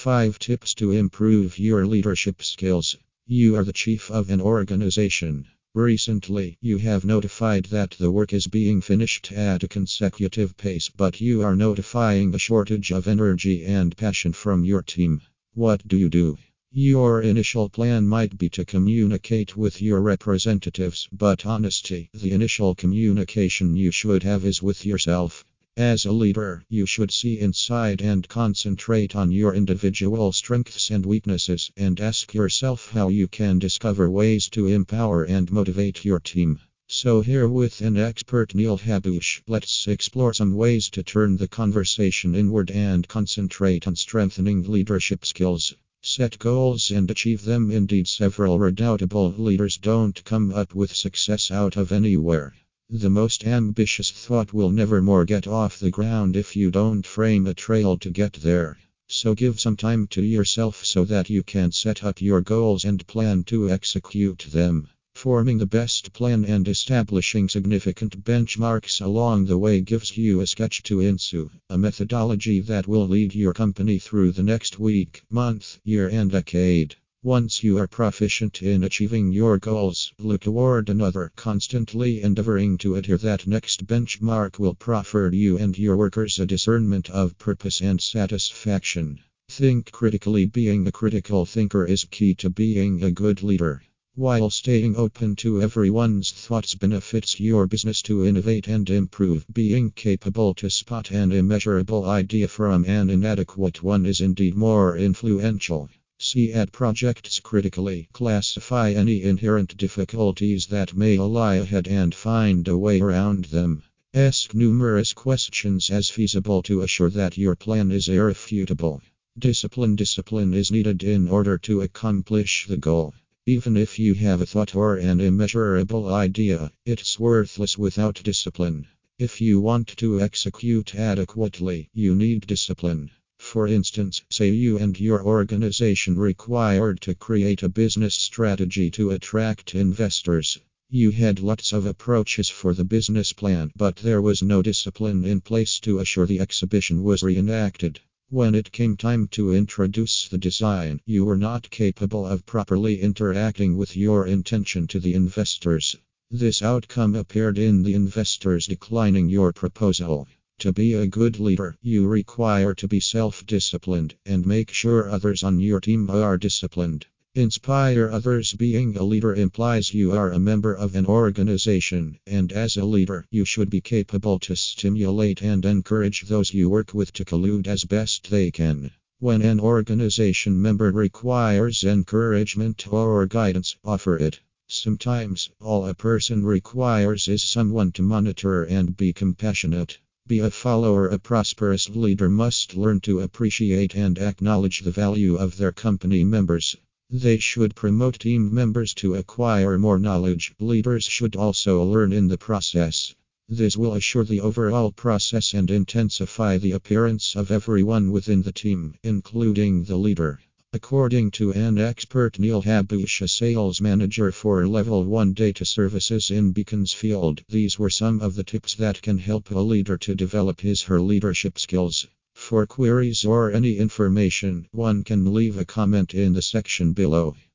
5 tips to improve your leadership skills. You are the chief of an organization. Recently, you have notified that the work is being finished at a consecutive pace, but you are notifying a shortage of energy and passion from your team. What do? Your initial plan might be to communicate with your representatives, but honestly, the initial communication you should have is with yourself. As a leader, you should see inside and concentrate on your individual strengths and weaknesses, and ask yourself how you can discover ways to empower and motivate your team. So here with an expert Neil Habush, let's explore some ways to turn the conversation inward and concentrate on strengthening leadership skills. Set goals and achieve them. Indeed, several redoubtable leaders don't come up with success out of anywhere. The most ambitious thought will never more get off the ground if you don't frame a trail to get there. So give some time to yourself so that you can set up your goals and plan to execute them. Forming the best plan and establishing significant benchmarks along the way gives you a sketch to ensue, a methodology that will lead your company through the next week, month, year, and decade. Once you are proficient in achieving your goals, look toward another, constantly endeavoring to adhere. That next benchmark will proffer you and your workers a discernment of purpose and satisfaction. Think critically. Being a critical thinker is key to being a good leader. While staying open to everyone's thoughts benefits your business to innovate and improve, being capable to spot an immeasurable idea from an inadequate one is indeed more influential. See at projects critically, classify any inherent difficulties that may lie ahead and find a way around them. Ask numerous questions as feasible to assure that your plan is irrefutable. Discipline is needed in order to accomplish the goal. Even if you have a thought or an immeasurable idea, it's worthless without discipline. If you want to execute adequately, you need discipline. For instance, say you and your organization required to create a business strategy to attract investors. You had lots of approaches for the business plan, but there was no discipline in place to assure the exhibition was reenacted. When it came time to introduce the design, you were not capable of properly interacting with your intention to the investors. This outcome appeared in the investors declining your proposal. To be a good leader, you require to be self-disciplined and make sure others on your team are disciplined. Inspire others. Being a leader implies you are a member of an organization, and as a leader, you should be capable to stimulate and encourage those you work with to collude as best they can. When an organization member requires encouragement or guidance, offer it. Sometimes, all a person requires is someone to monitor and be compassionate. Be a follower. A prosperous leader must learn to appreciate and acknowledge the value of their company members. They should promote team members to acquire more knowledge. Leaders should also learn in the process. This will assure the overall process and intensify the appearance of everyone within the team, including the leader. According to an expert Neil Habush, a sales manager for Level 1 Data Services in Beaconsfield, these were some of the tips that can help a leader to develop his/her leadership skills. For queries or any information, one can leave a comment in the section below.